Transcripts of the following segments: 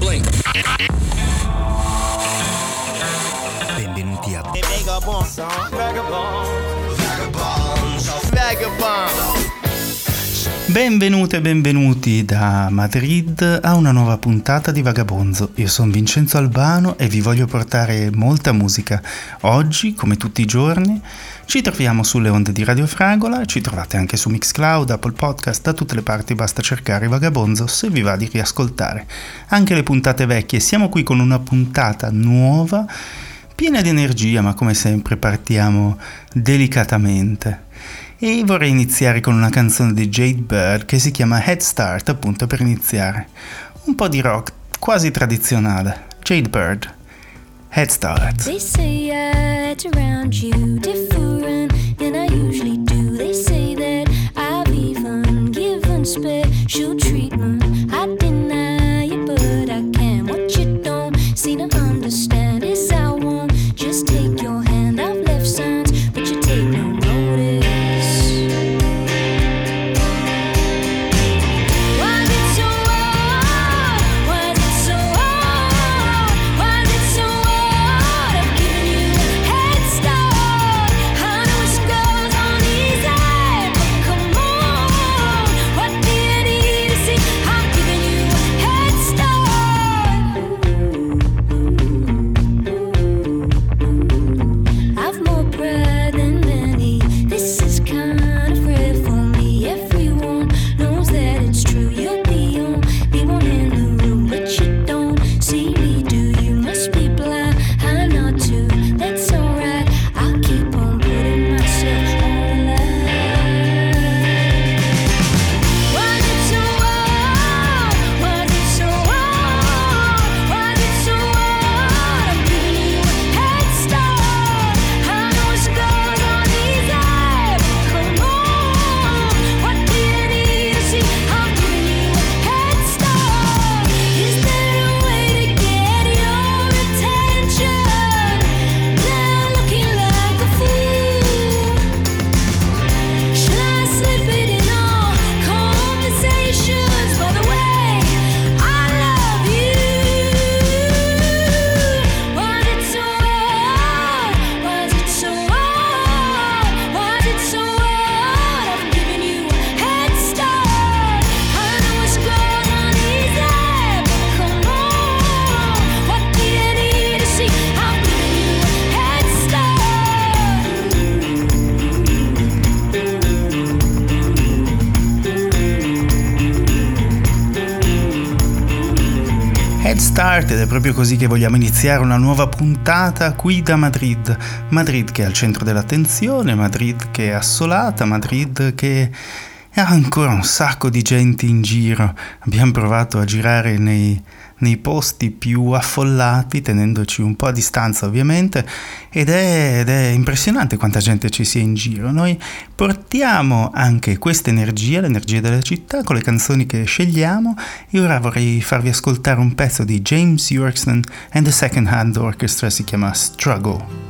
Blink. Benvenuti a Benvenute e benvenuti da Madrid a una nuova puntata di Vagabonzo. Io sono Vincenzo Albano e vi voglio portare molta musica. Oggi, come tutti i giorni, ci troviamo sulle onde di Radio Fragola, ci trovate anche su Mixcloud, Apple Podcast, da tutte le parti basta cercare Vagabonzo se vi va di riascoltare. Anche le puntate vecchie, siamo qui con una puntata nuova, piena di energia, ma come sempre partiamo delicatamente. E vorrei iniziare con una canzone di Jade Bird che si chiama Head Start, appunto per iniziare. Un po' di rock quasi tradizionale. Jade Bird, Head Start. They say I act around you different than I usually do. They say that I've even given special treatment. I deny it, but I can. What you don't seem to understand is I won't just take your hand. I've left signs, but you take no notice. Ed è proprio così che vogliamo iniziare una nuova puntata qui da Madrid. Madrid che è al centro dell'attenzione, Madrid che è assolata, Madrid che ha ancora un sacco di gente in giro. Abbiamo provato a girare nei posti più affollati, tenendoci un po' a distanza ovviamente, ed è impressionante quanta gente ci sia in giro. Noi portiamo anche questa energia, l'energia della città, con le canzoni che scegliamo, e ora vorrei farvi ascoltare un pezzo di James Yorkston and the Second Hand Orchestra, si chiama Struggle.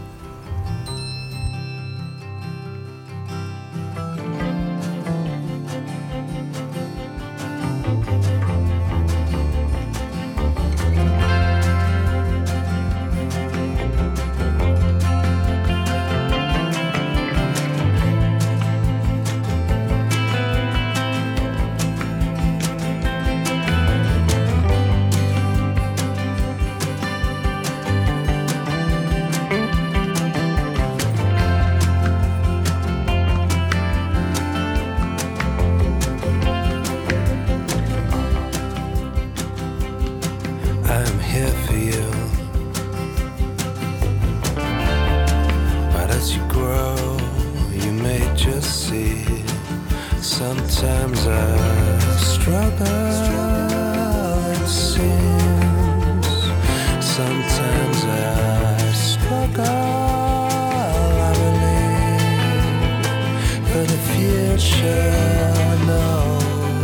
Sometimes I struggle, it seems. Sometimes I struggle, I believe. For the future, no.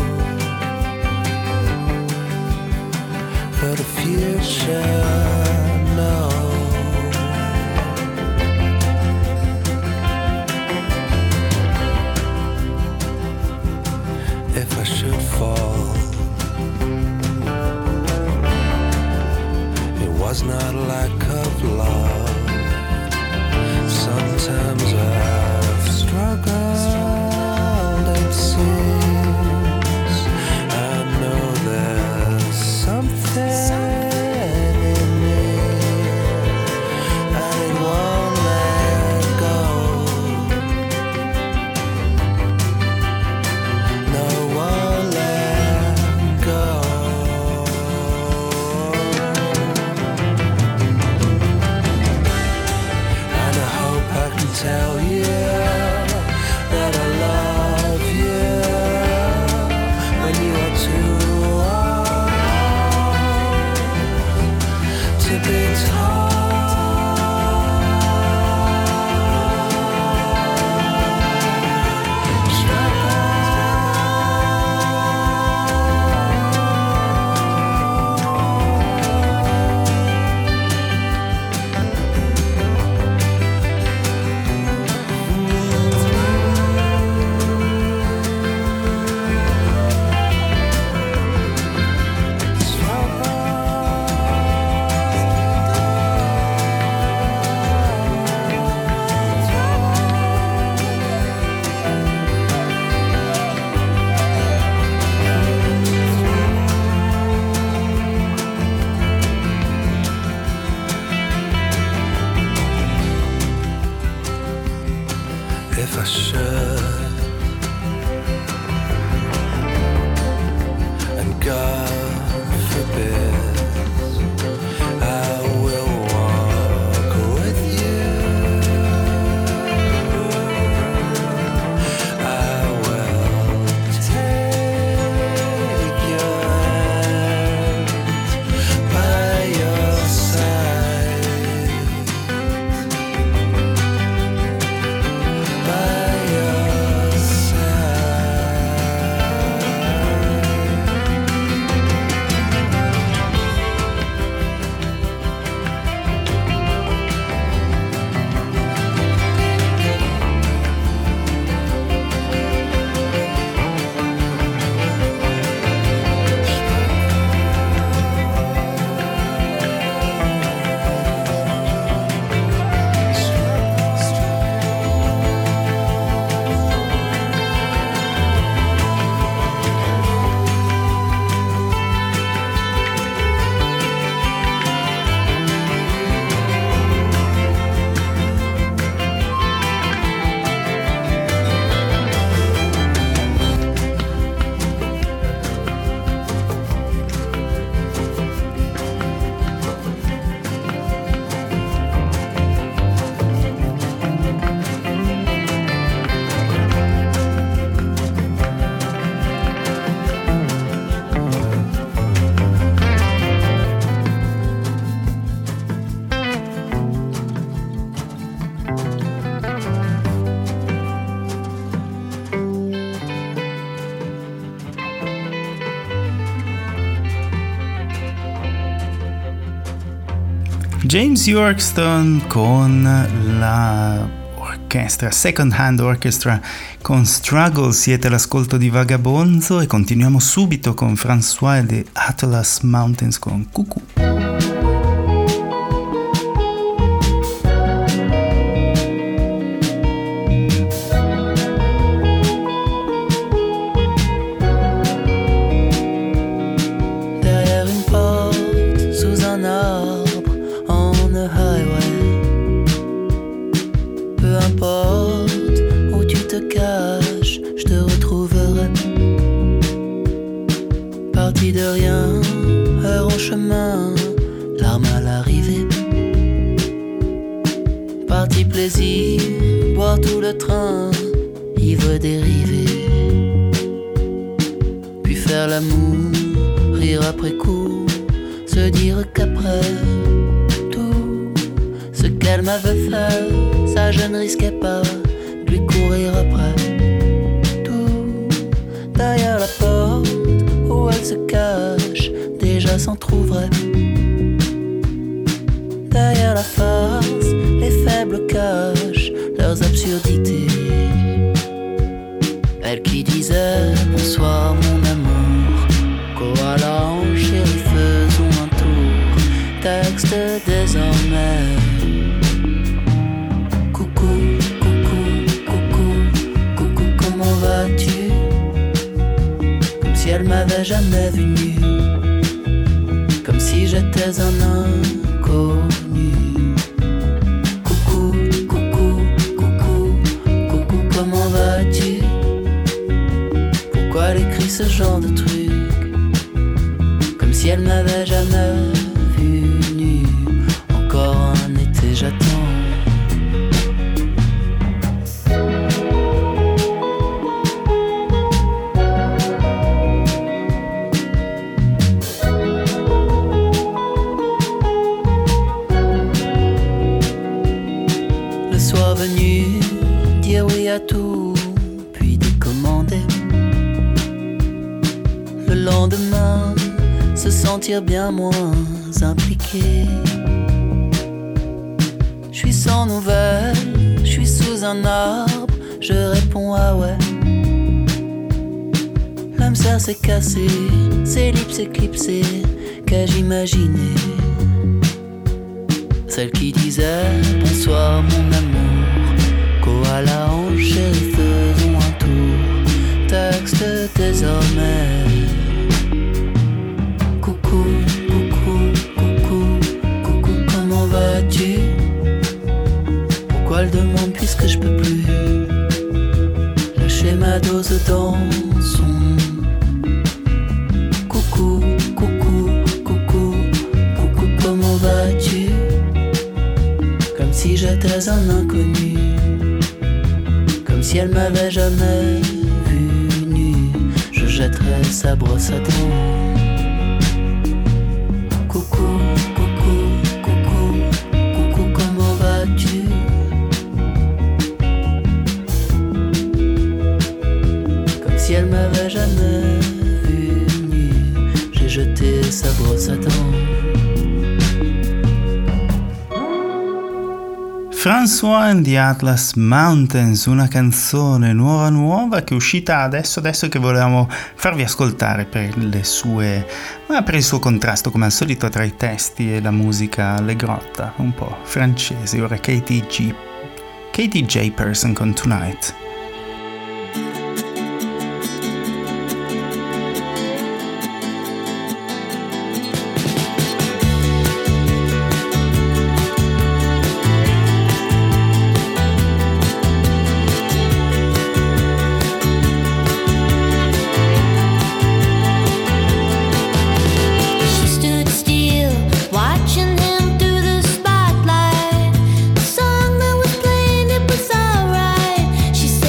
For the future, no. If I should fall, was not lack of love. Sometimes I've struggled, it seems. I know there's something in me, and it won't let go. No, won't let go. And I hope I can tell you that I love you when you are too old to be told. If I should, and God forbid, I will walk with you. I will take your hand by your side. By your James Yorkston con la orchestra Second Hand Orchestra con Struggle. Siete all'ascolto di Vagabonzo e continuiamo subito con François de Atlas Mountains con Cuckoo. Derrière une porte, sous un arbre, on the highway. Peu importe où tu te caches, je te retrouverai. Parti de rien, heure au chemin, larmes à l'arrivée. Parti plaisir, boire tout le train, ivre dérivé. Puis faire l'amour, rire après coup, se dire qu'après tout ce qu'elle m'avait fait, ça je ne risquais pas de lui courir après. Tout derrière la porte où elle se cache, déjà s'en trouverait. Derrière la farce, les faibles cachent leurs absurdités. Elle qui disait bonsoir mon amour, koala en chérie faisons un tour. Texte m'avait jamais vu nu, comme si j'étais un inconnu. Coucou, coucou, coucou, coucou, comment vas-tu? Pourquoi elle écrit ce genre de truc, comme si elle m'avait jamais vu nu. Encore un été, j'attends. Venu dire oui à tout, puis décommander. Le lendemain, se sentir bien moins impliqué. Je suis sans nouvelles, je suis sous un arbre, je réponds ah ouais. L'âme sœur s'est cassée, ses lips éclipsés, qu'ai-je imaginé? Celle qui disait bonsoir mon amour, koala en chérie, faisons un tour. Texte désormais. Coucou, coucou, coucou, coucou, comment vas-tu? Pourquoi elle demande puisque je peux plus lâcher ma dose dans son. Coucou, coucou, coucou, coucou, comment vas-tu? Comme si j'étais un inconnu, comme si elle m'avait jamais vu nu. Je jetterais sa brosse à dents. Coucou, coucou, coucou, coucou, comment vas-tu? Comme si elle m'avait jamais vu nu. J'ai jeté sa brosse à dents. François and the Atlas Mountains, una canzone nuova che è uscita adesso che volevamo farvi ascoltare per il suo contrasto come al solito tra i testi e la musica allegrotta, un po' francese. Ora Katie J. Person con Tonight. She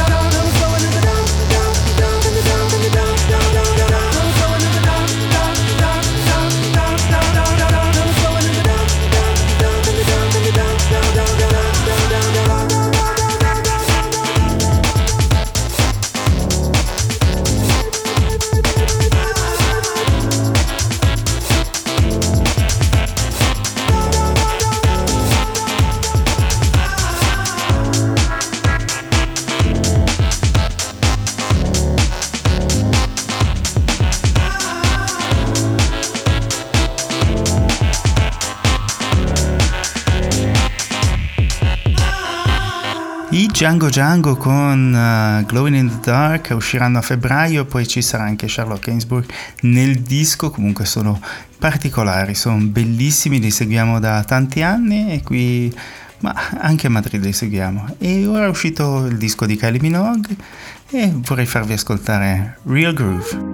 Django Django con Glowing in the Dark usciranno a febbraio, poi ci sarà anche Charlotte Gainsbourg nel disco. Comunque sono particolari, sono bellissimi, li seguiamo da tanti anni e qui, ma anche a Madrid li seguiamo. E ora è uscito il disco di Kylie Minogue e vorrei farvi ascoltare Real Groove.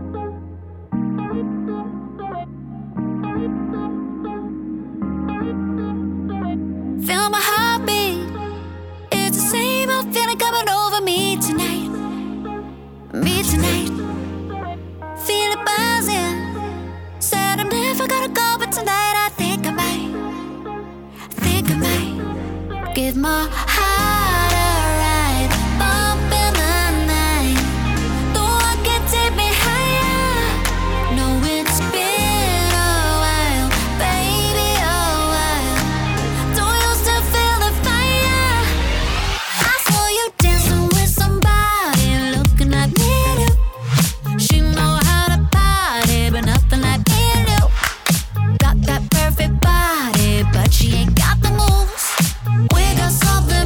Give my heart a ride, bump in the night. The one can take me higher. No, it's been a while, baby, a while. Don't you still feel the fire? I saw you dancing with somebody looking like me and you. She know how to party, but nothing like me and you. Got that perfect body, but she ain't got the moves. We got something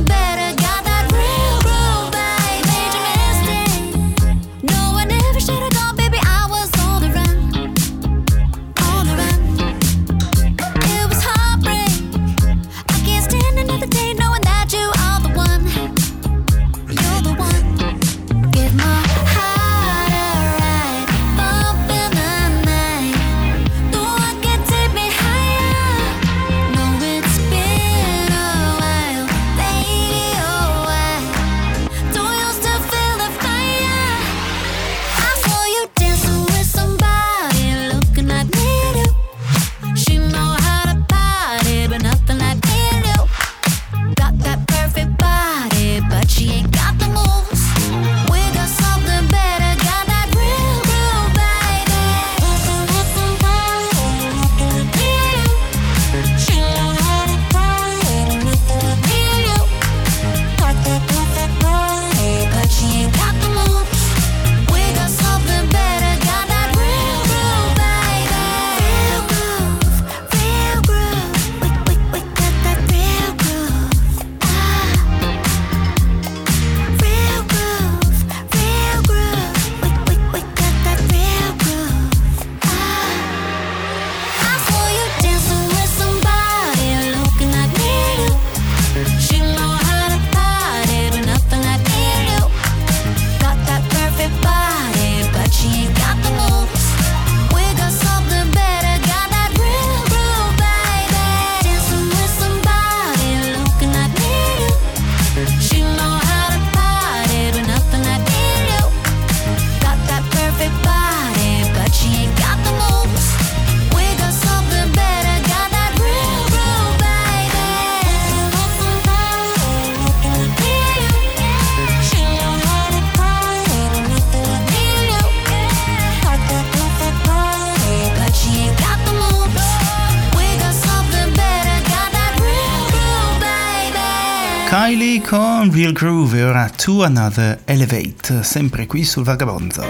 Riley con Real Groove e ora To Another Elevate, sempre qui sul Vagabonzo.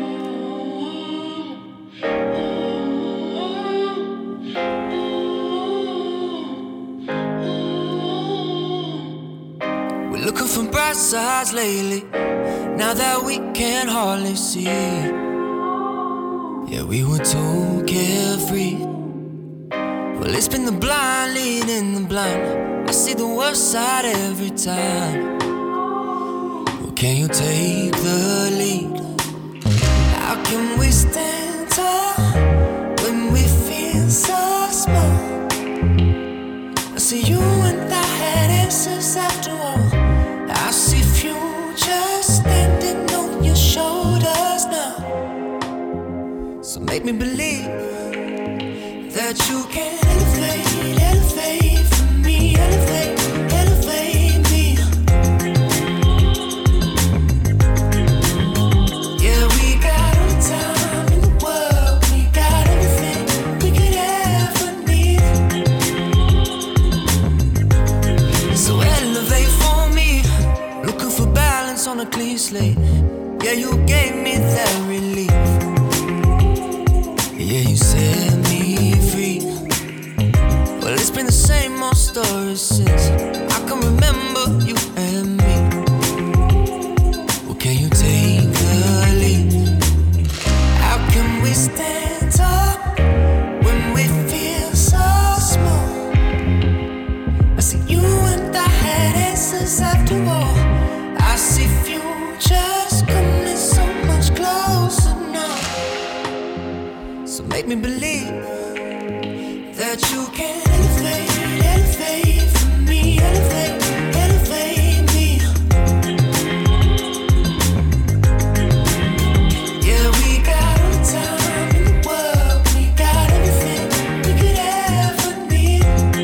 We're looking for bright sides lately, now that we can hardly see. Yeah, we were too carefree. Well, it's been the blind leading the blind. I see the worst side every time. Well, can you take the lead? How can we stand tall when we feel so small? I see you and I had answers after all. I see future standing on your shoulders now. So make me believe that you can elevate, elevate for me, elevate, elevate me. Yeah, we got all the time in the world, we got everything we could ever need. So elevate for me, looking for balance on a clean slate. Yeah, you gave me that relief. Yeah, you set me free. Well, it's been the same old story since I can remember you and me. Well, can you take the lead? How can we stand tall when we feel so small? I see you and I had answers after all. I see futures coming so much closer now. So make me believe that you can elevate, elevate for me, elevate, elevate me. Yeah, we got all the time in the world, we got everything we could ever need.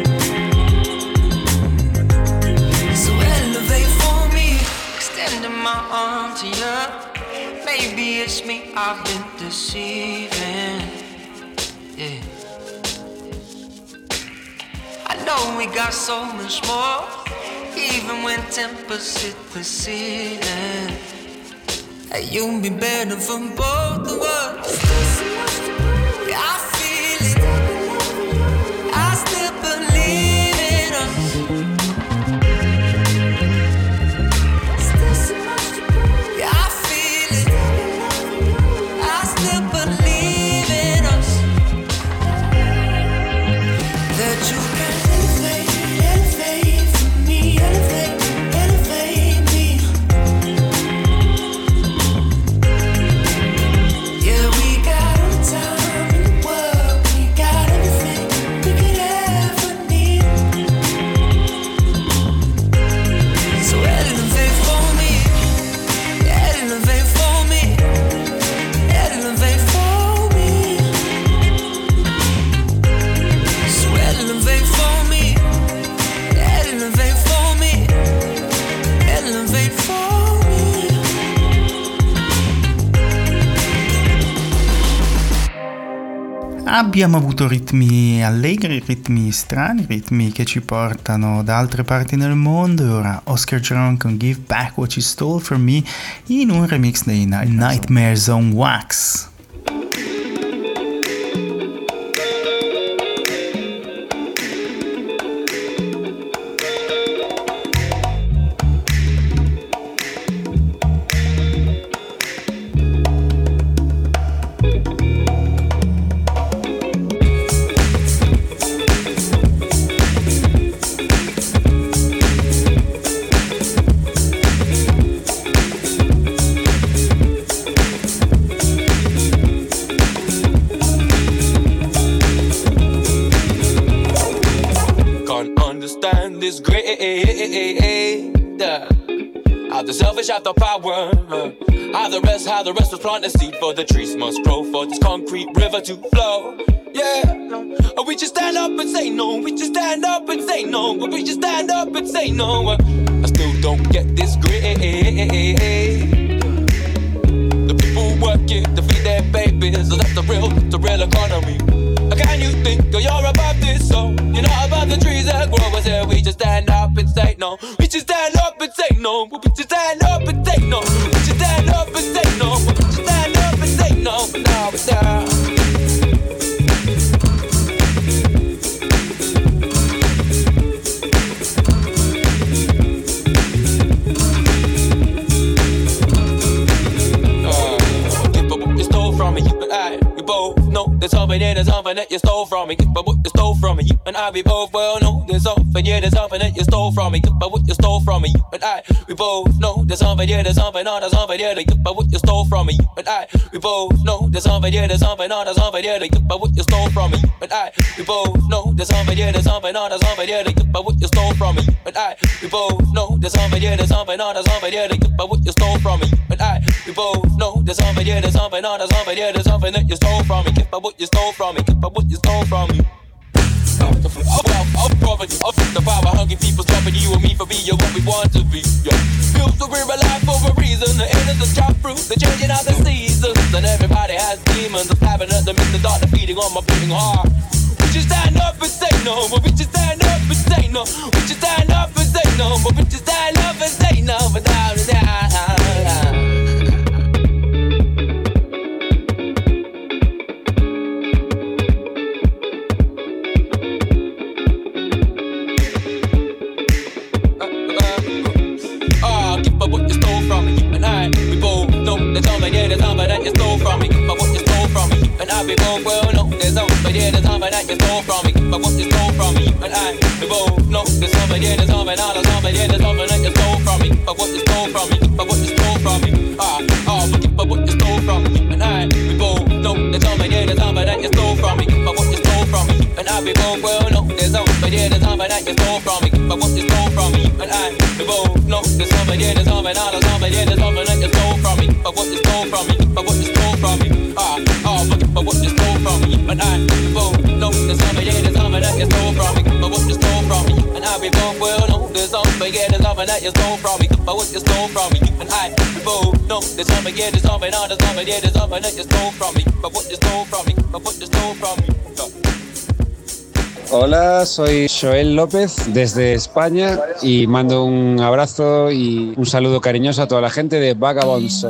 So elevate for me, extending my arm to you. Maybe it's me I've been deceiving. Yeah, I know we got so much more, even when tempers hit the ceiling. Hey, you'll be better for both of us. Yeah, I feel it, I still believe in us. Yeah, I feel it, I still believe in us. That you can elevate, elevate for me, elevate, elevate me. Yeah, we got all the time in the world, we got everything we could ever need. So elevate for me, elevate for me, elevate for me. So elevate for me, elevate for me, elevate for me. Abbiamo avuto ritmi allegri, ritmi strani, ritmi che ci portano da altre parti nel mondo e ora Oscar Jerome con Give Back What You Stole From Me in un remix dei Nightmares on Wax. This great how the selfish have the power, how the rest was planting seed for the trees must grow for this concrete river to flow. Yeah, we just stand up and say no. We just stand up and say no. We just stand up and say no. I still don't get this great. The people working to feed their babies, so that's the real economy. Can you think you're above this? So you're not above the trees that grow. I said we just stand up and say no. We just stand no. But would you stand up and say no? Would you stand up and say no? But would you stand up and say no? But now, but now. There's something, yeah, there's something that you stole from me. But what you stole from me, you and I, we both well know. There's something, yeah, there's something that you stole from me. But what you stole from me, you and I, we both know. There's something, yeah, there's something, oh, there's something, yeah, but what you stole from me, you and I, we both know. There's something, yeah, there's something, oh, there's something, yeah, but what you stole from me, you and I, we both know. There's something, yeah, there's something, oh, there's something, yeah, but what you stole from me, you and I, we both know. There's something, yeah, there's something, oh, there's something, yeah, but what you stole from me, you and I, we both know. There's something, yeah, there's something, oh, there's something, yeah, there's something that you stole from me. But what you stole from me, but what you stole from me. The power hungry people stopping you and me for being what we want to be. Yeah. Feels so we're alive for a reason. The innocence chop fruit, the changing of the seasons. And everybody has demons. I'm stabbing at them in the dark, defeating on my beating heart. Would you stand up and say no? But would you stand up and say no? Would you stand up and say no? But would you stand up and say no? But down and down. There's something, yeah, there's something that you stole from me. But what you stole from me, and I be both well know. There's something, yeah, there's something that you stole from me. But what you stole from me, and I be both know. There's something, yeah, there's something, oh, there's something, yeah, there's something that you stole from me. But what you stole from me, but what you stole from me, but what you stole from me, and I be both know. There's something, yeah, there's something that you stole from me. But what you stole from me, and I be both well know. There's something, yeah, there's something that you stole from me. But what you stole from me, and I be both know. There's something, yeah, there's something, oh, there's something, yeah, there's something that you stole from me. But what you stole from me, but what you stole from me, but what you stole from me, and I both know. There's something, yeah, there's something that you stole from me, but what you stole from me, and I both well know. There's something, yeah, there's something that you stole from me, but what you stole from me, and I both know. There's something, yeah, there's something, oh, there's something, yeah, there's something that you stole from me, but what you stole from me, but what you stole from me. Hola, soy Joel López desde España y mando un abrazo y un saludo cariñoso a toda la gente de Vagabonds.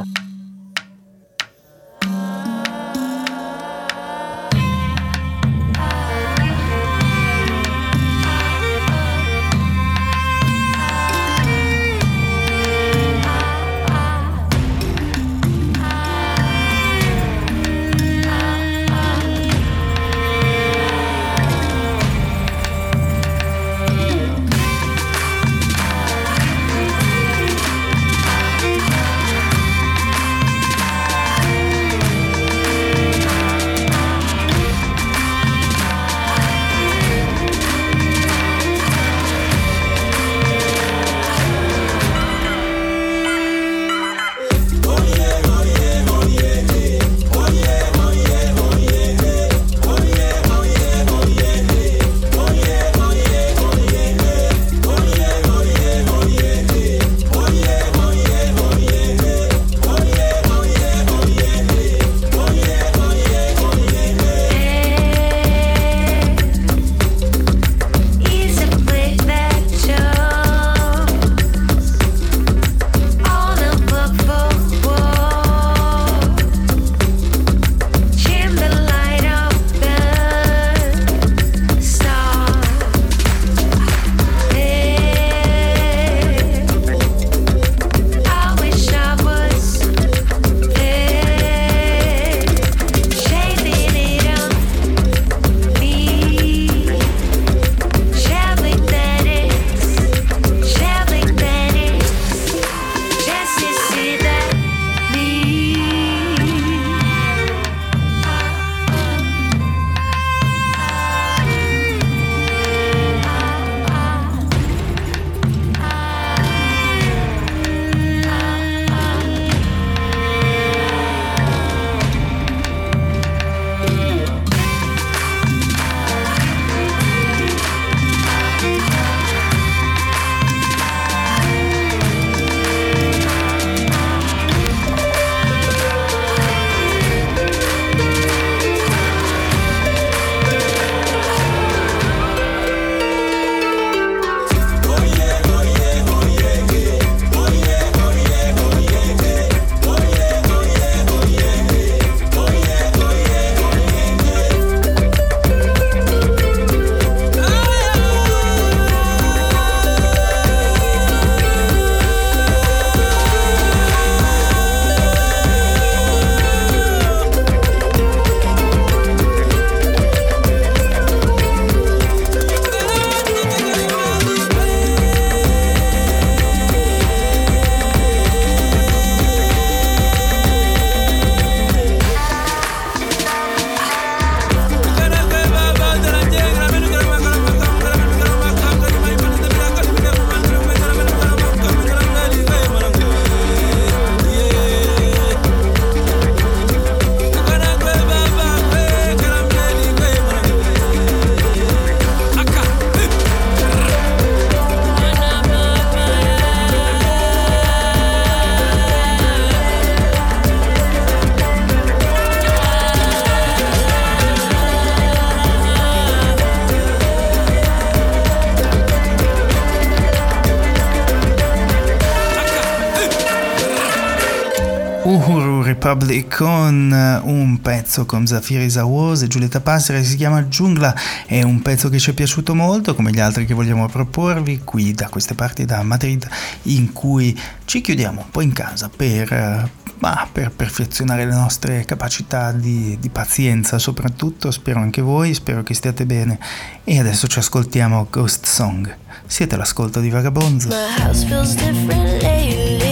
Uhuru Republic con un pezzo con Zafiri Zawos e Giulietta Passera che si chiama Giungla. È un pezzo che ci è piaciuto molto, come gli altri che vogliamo proporvi qui da queste parti, da Madrid, in cui ci chiudiamo un po' in casa per perfezionare le nostre capacità di pazienza soprattutto. Spero anche voi, spero che stiate bene, e adesso ci ascoltiamo Ghost Song. Siete all'ascolto di Vagabonzo. My house feels different lately.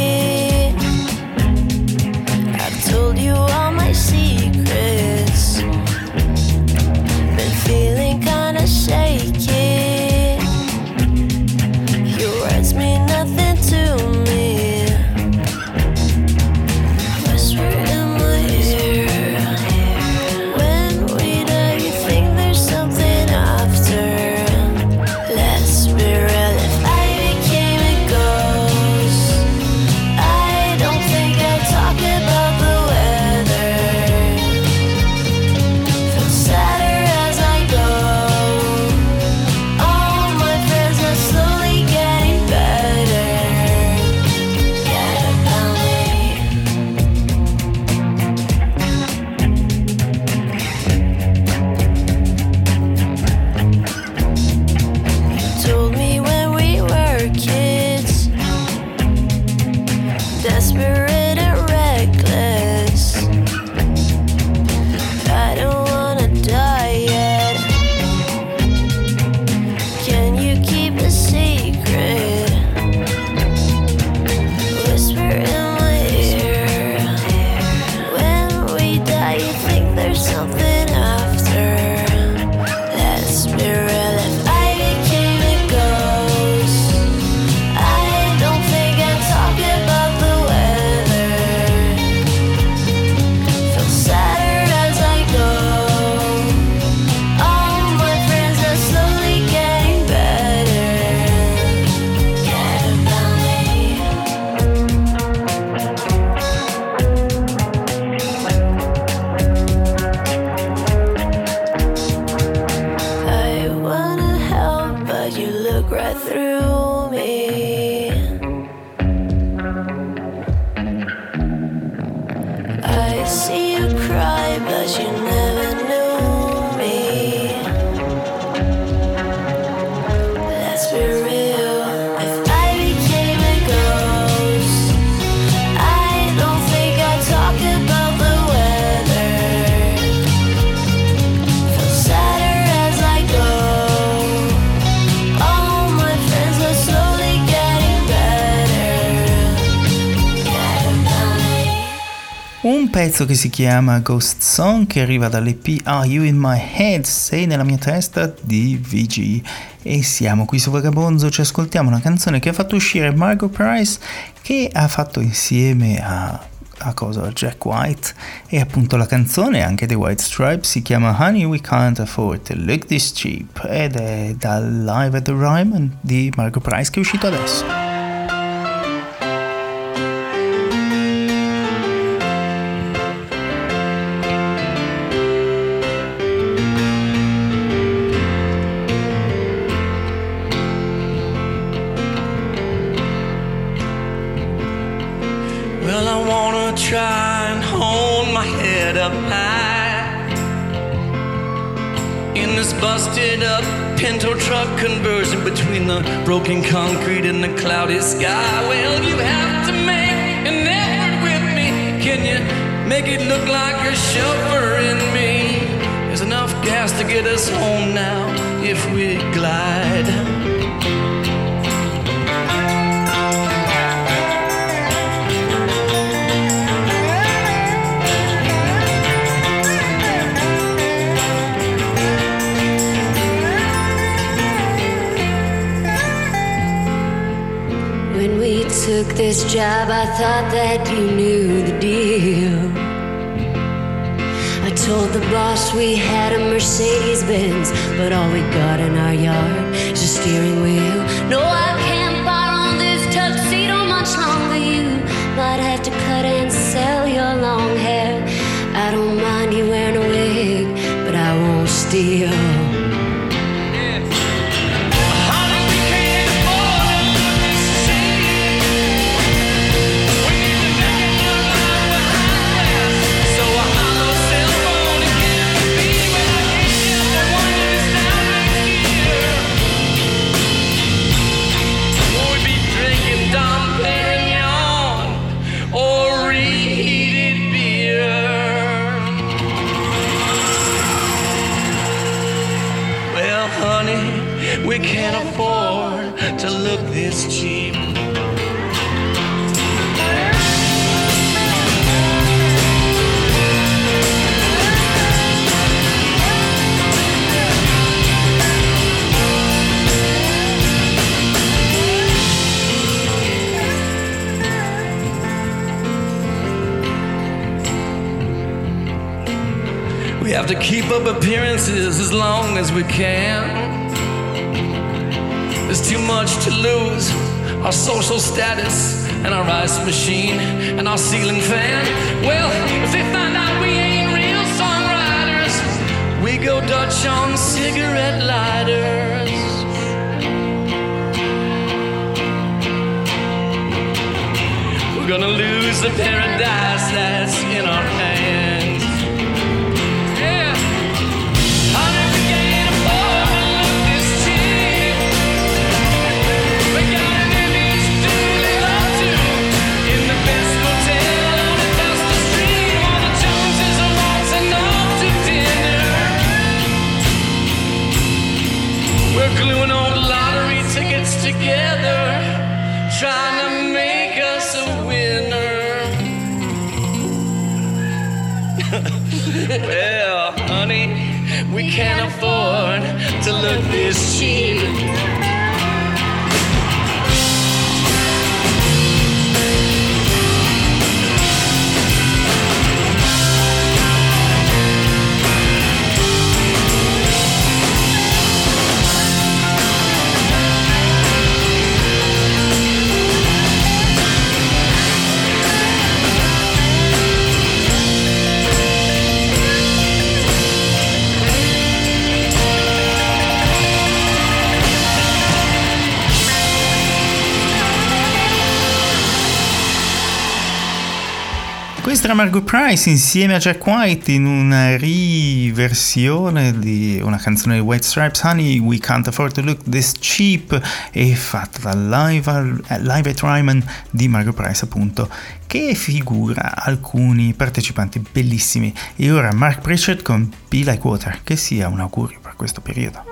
Told you all my secrets. Been feeling kinda shaky. Your words mean nothing to me. Whisper in my ear. When we die, you think there's something after. Let's be real. If I became a ghost, I don't think I'd talk about the desperate and reckless. I don't wanna die yet. Can you keep a secret? Whisper in my ear. When we die, you think there's something after. Let's be real. If I became a ghost, I don't think I'd talk about the right through me. I see you cry, but you never knew me. Let's be real. If I became a ghost, I don't think I'd talk about the weather. Feel sadder as I go. Un pezzo che si chiama Ghost Song, che arriva dall'EP Are You In My Head? Sei nella mia testa di VG. E siamo qui su Vagabonzo, ci ascoltiamo una canzone che ha fatto uscire Margot Price, che ha fatto insieme a Jack White, e appunto la canzone anche dei White Stripes si chiama Honey We Can't Afford to Look This Cheap, ed è dal Live at the Ryman di Margot Price che è uscito adesso. Try and hold my head up high in this busted up Pinto truck conversion between the broken concrete and the cloudy sky. Well, you have to make an effort with me. Can you make it look like you're chauffeuring me? There's enough gas to get us home now if we glide. Took this job, I thought that you knew the deal. I told the boss we had a Mercedes-Benz, but all we got in our yard is a steering wheel. No, I can't borrow this tuxedo much longer. You might have to cut and sell your long hair. I don't mind you wearing a wig, but I won't steal. We have to keep up appearances as long as we can. There's too much to lose, our social status and our ice machine and our ceiling fan. Well, if they find out we ain't real songwriters, we go Dutch on cigarette lighters. We're gonna lose the paradise that's in our hands. Yeah. Honey, we can't afford to look this cheap. We got an image to live up to in the best hotel on the Dusty Street, while the Joneses are waltzing off to dinner. We're gluing old lottery tickets together, trying to make us a winner. Well, honey, we can't afford to look this cheap. Questa era Margo Price insieme a Jack White in una riversione di una canzone di White Stripes, Honey, We Can't Afford to Look This Cheap, e fatta da Live at Ryman di Margo Price, appunto, che figura alcuni partecipanti bellissimi. E ora Mark Pritchard con Be Like Water, che sia un augurio per questo periodo.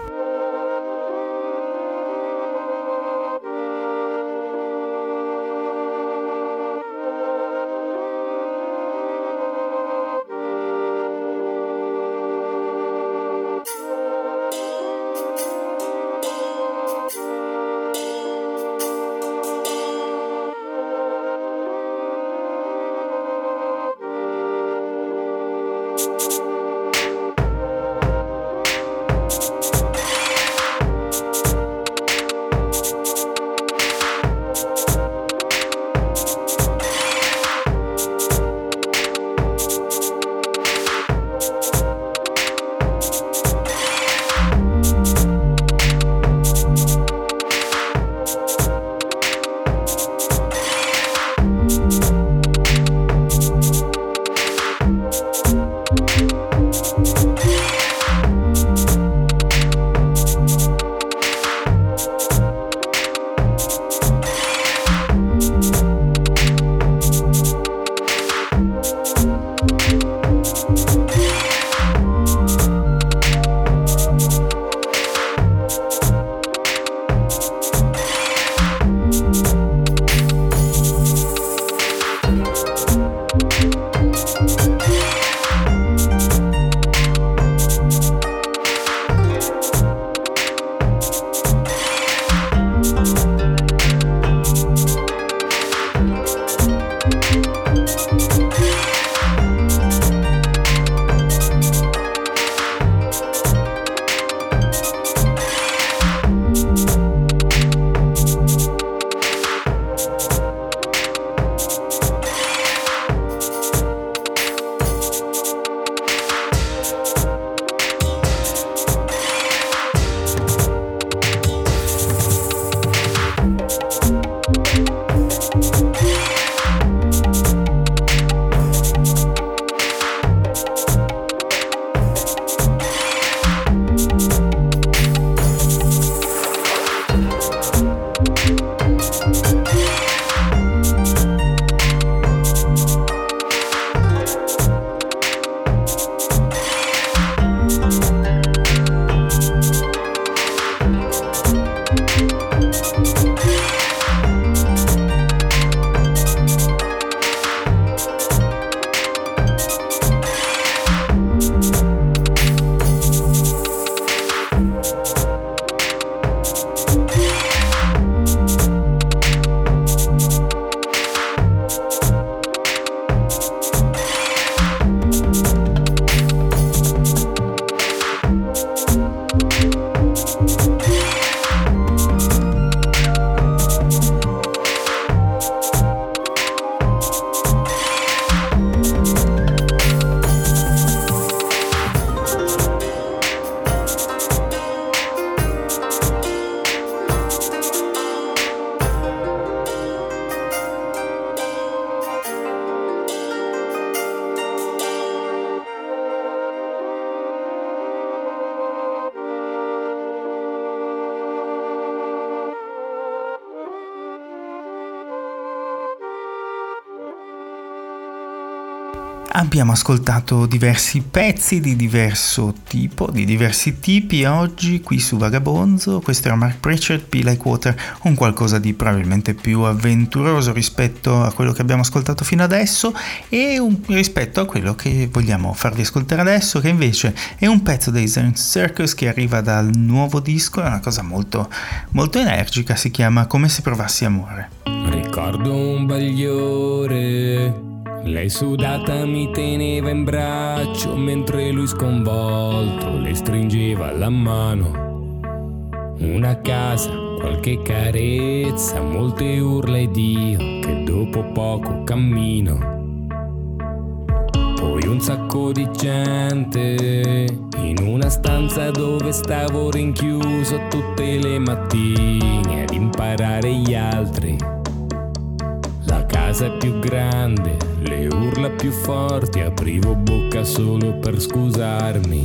Abbiamo ascoltato diversi pezzi di diverso tipo, di diversi tipi oggi qui su Vagabonzo. Questo era Mark Pritchard, Be Like Water, un qualcosa di probabilmente più avventuroso rispetto a quello che abbiamo ascoltato fino adesso e rispetto a quello che vogliamo farvi ascoltare adesso, che invece è un pezzo dei Zen Circus che arriva dal nuovo disco, è una cosa molto, molto energica, si chiama Come se provassi amore. Ricordo un bagliore, lei sudata mi teneva in braccio mentre lui sconvolto le stringeva la mano. Una casa, qualche carezza, molte urla ed io che dopo poco cammino. Poi un sacco di gente in una stanza dove stavo rinchiuso tutte le mattine ad imparare gli altri. La casa è più grande, le urla più forti, aprivo bocca solo per scusarmi.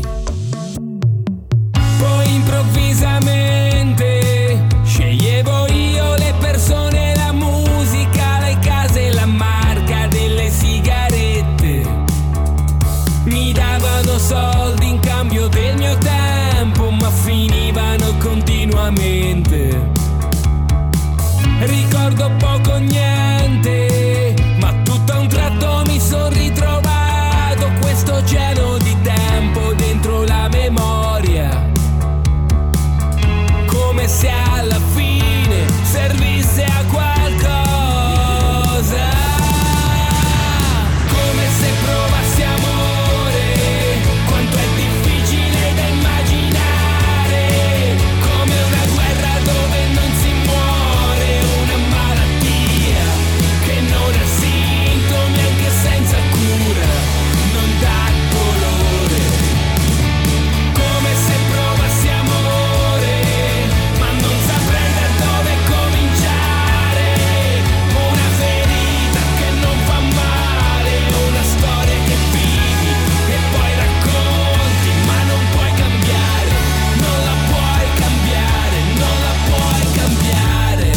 Poi improvvisamente sceglievo io le persone, la musica, le case, la marca delle sigarette. Mi davano soldi in cambio del mio tempo, ma finivano continuamente. Ricordo poco o niente, ma tutto a un tratto mi son ritrovato questo oceano di tempo dentro la memoria, come se alla fine servisse a qualcosa, come se provassi amore, quanto è difficile da immaginare, come una guerra dove non si muore, una malattia che non ha sintomi anche senza cura, non dà dolore, come se provassi amore, ma non saprei da dove cominciare, una ferita che non fa male, una storia che vivi e poi racconti, ma non puoi cambiare, non la puoi cambiare, non la puoi cambiare.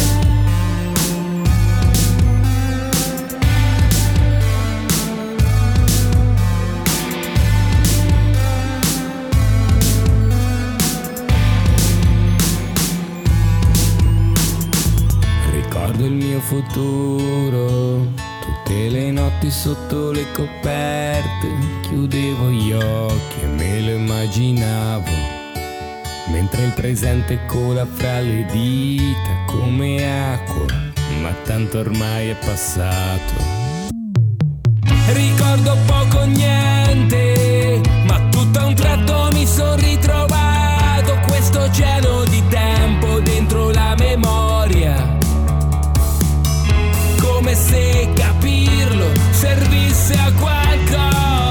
Ricordo il mio futuro, tutte le notti sotto le coperte, chiudevo gli occhi e me lo immaginavo, mentre il presente cola fra le dita come acqua, ma tanto ormai è passato. Ricordo poco o niente, ma tutto a un tratto mi son ritrovato questo oceano di tempo dentro la memoria, come se capirlo servisse a qualcosa,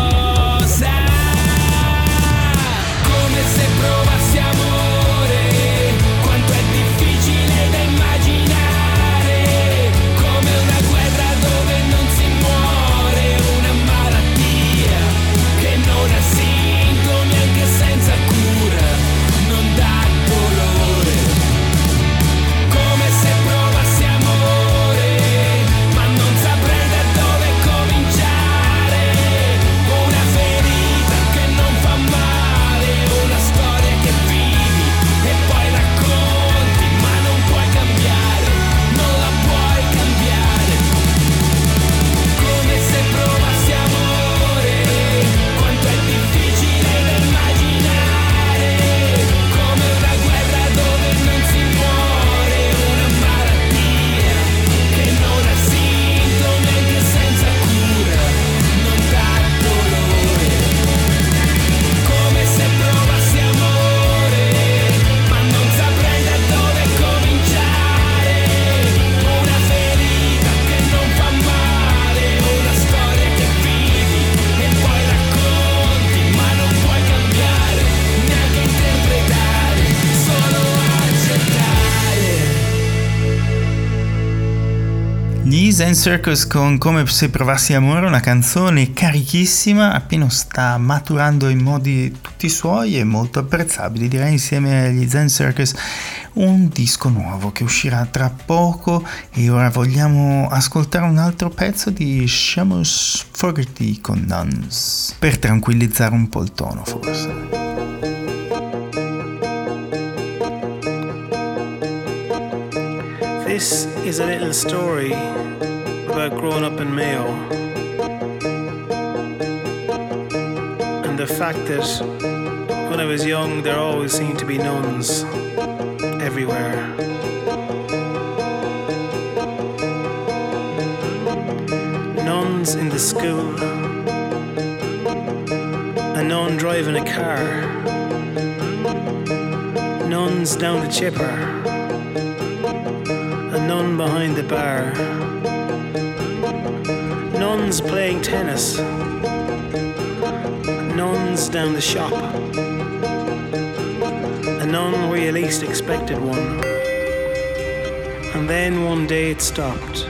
come se provassi amore, quanto è difficile da immaginare, come una guerra dove non si muore, una malattia che non ha sintomi anche senza cura, non dà dolore, come se provassi amore, ma non saprei da dove cominciare, una ferita che non fa male, una storia che vivi e poi racconti, ma non puoi cambiare, non la puoi cambiare, come se provassi amore, quanto è difficile da immaginare, come una guerra dove non si muore, una malattia che non ha sintomi anche senza cura, non dà dolore, come se provassi amore, ma non saprei da dove cominciare, una ferita che non fa male, una storia che vivi e poi racconti, ma non puoi cambiare, neanche interpretare, solo accettare. Gli Zen Circus con Come se provassi amore, una canzone carichissima, appena sta maturando in modi tutti suoi e molto apprezzabili, direi, insieme agli Zen Circus. un disco nuovo che uscirà tra poco e ora vogliamo ascoltare un altro pezzo di Seamus Fogarty con Nuns, per tranquillizzare un po' il tono forse. This is a little story about growing up in Mayo and the fact that when I was young there always seemed to be nuns everywhere. Nuns in the school, a nun driving a car, nuns down the chipper, a nun behind the bar, nuns playing tennis, nuns down the shop, a nun where you least expected one, and then one day it stopped.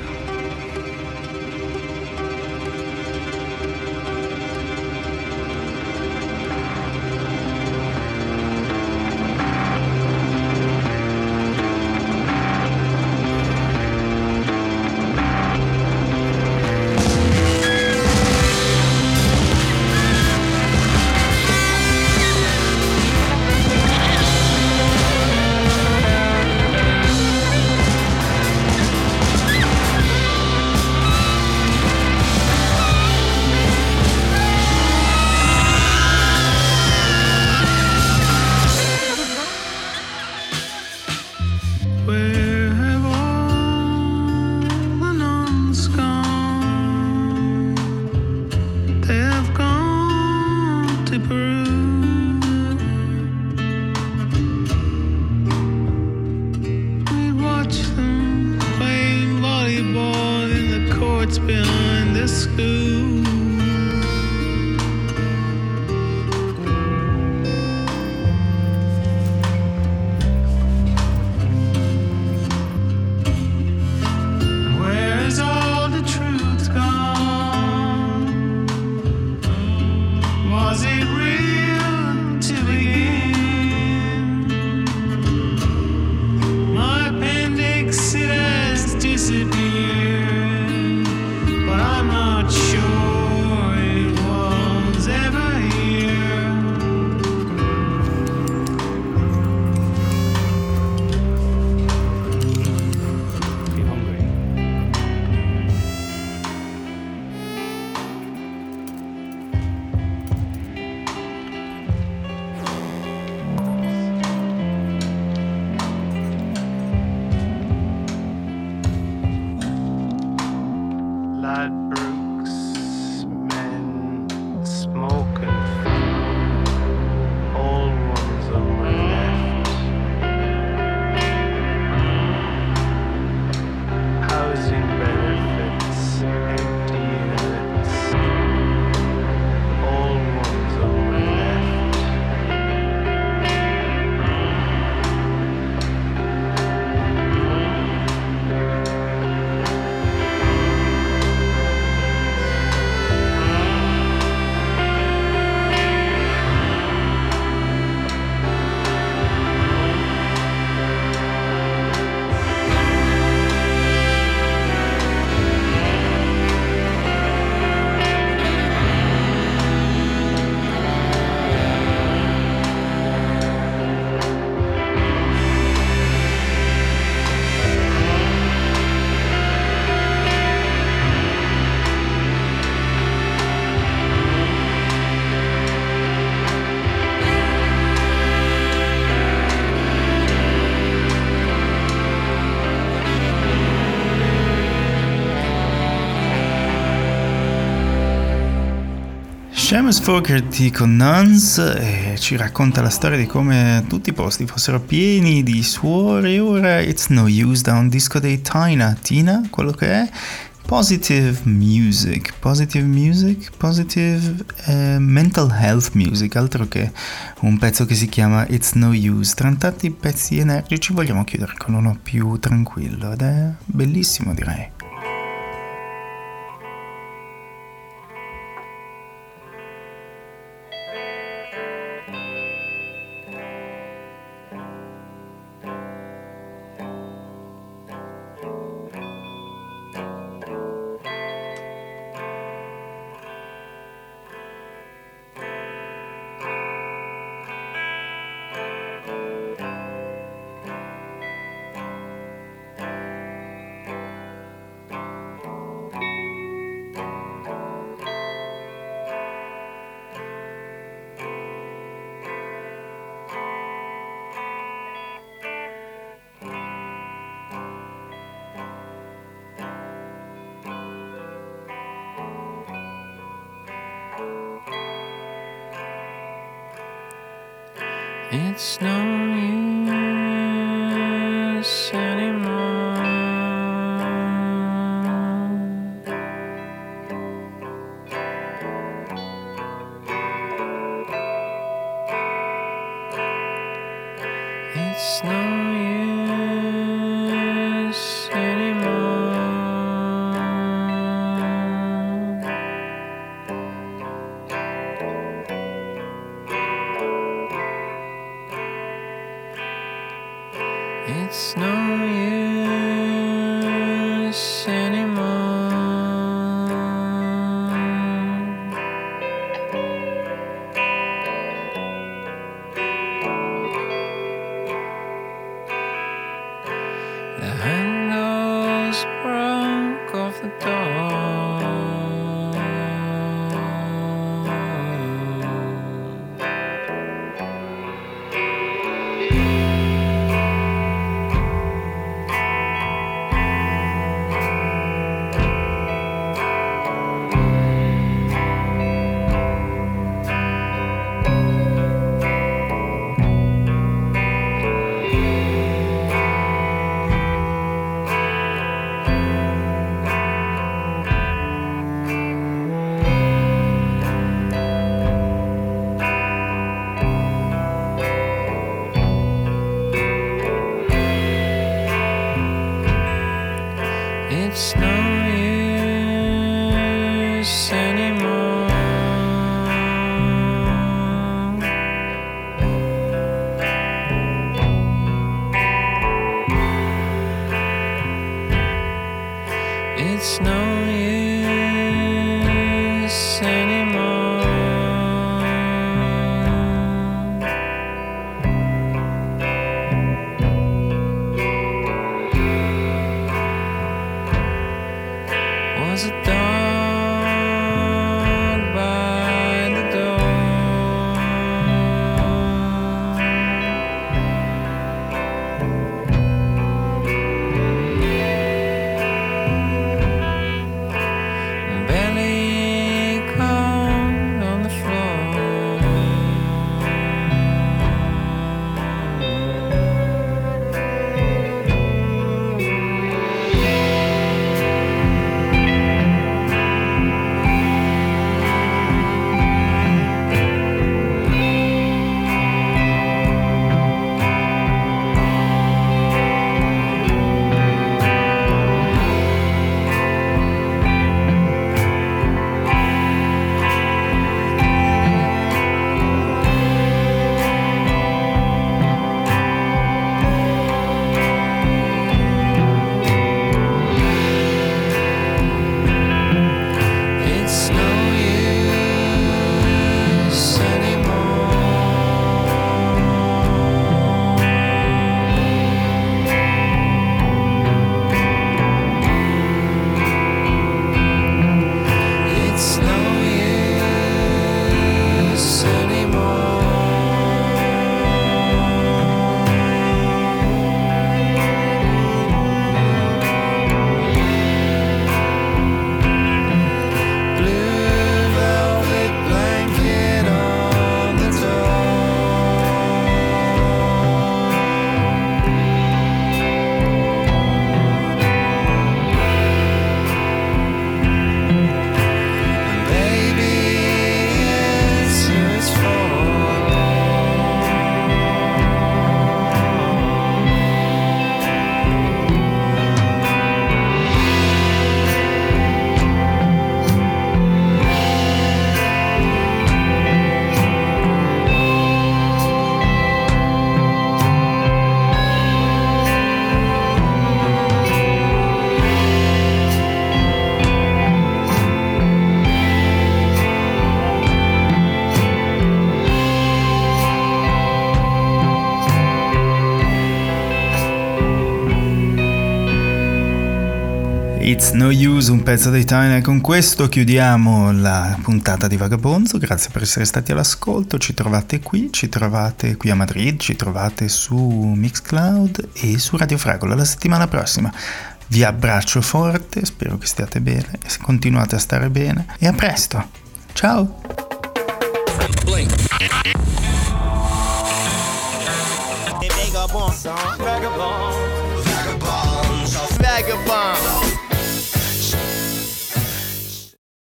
Seamus Fogarty con Nuns ci racconta la storia di come tutti i posti fossero pieni di suore e ora It's No Use da un disco dei Tina, quello che è positive music, mental health music, altro che un pezzo che si chiama It's No Use. Tra tanti pezzi energici vogliamo chiudere con uno più tranquillo ed è bellissimo, direi. It's no use anymore. It's no use anymore. It's no use anymore. The handles broke off the door. It's no use anymore. It's no use anymore. Was a dog by the door. Belly cold on the floor. It's no use anymore. It's no use anymore. Blue velvet blanket on the door. Baby, it's who it's for. It's No Use, un pezzo dei Tyner. Con questo chiudiamo la puntata di Vagabonzo. Grazie per essere stati all'ascolto. Ci trovate qui a Madrid, ci trovate su Mixcloud e su Radio Fragola la settimana prossima. Vi abbraccio forte, spero che stiate bene e continuate a stare bene e a presto. Ciao! vagabond song. Vagabond. Vagabond. Vagabond.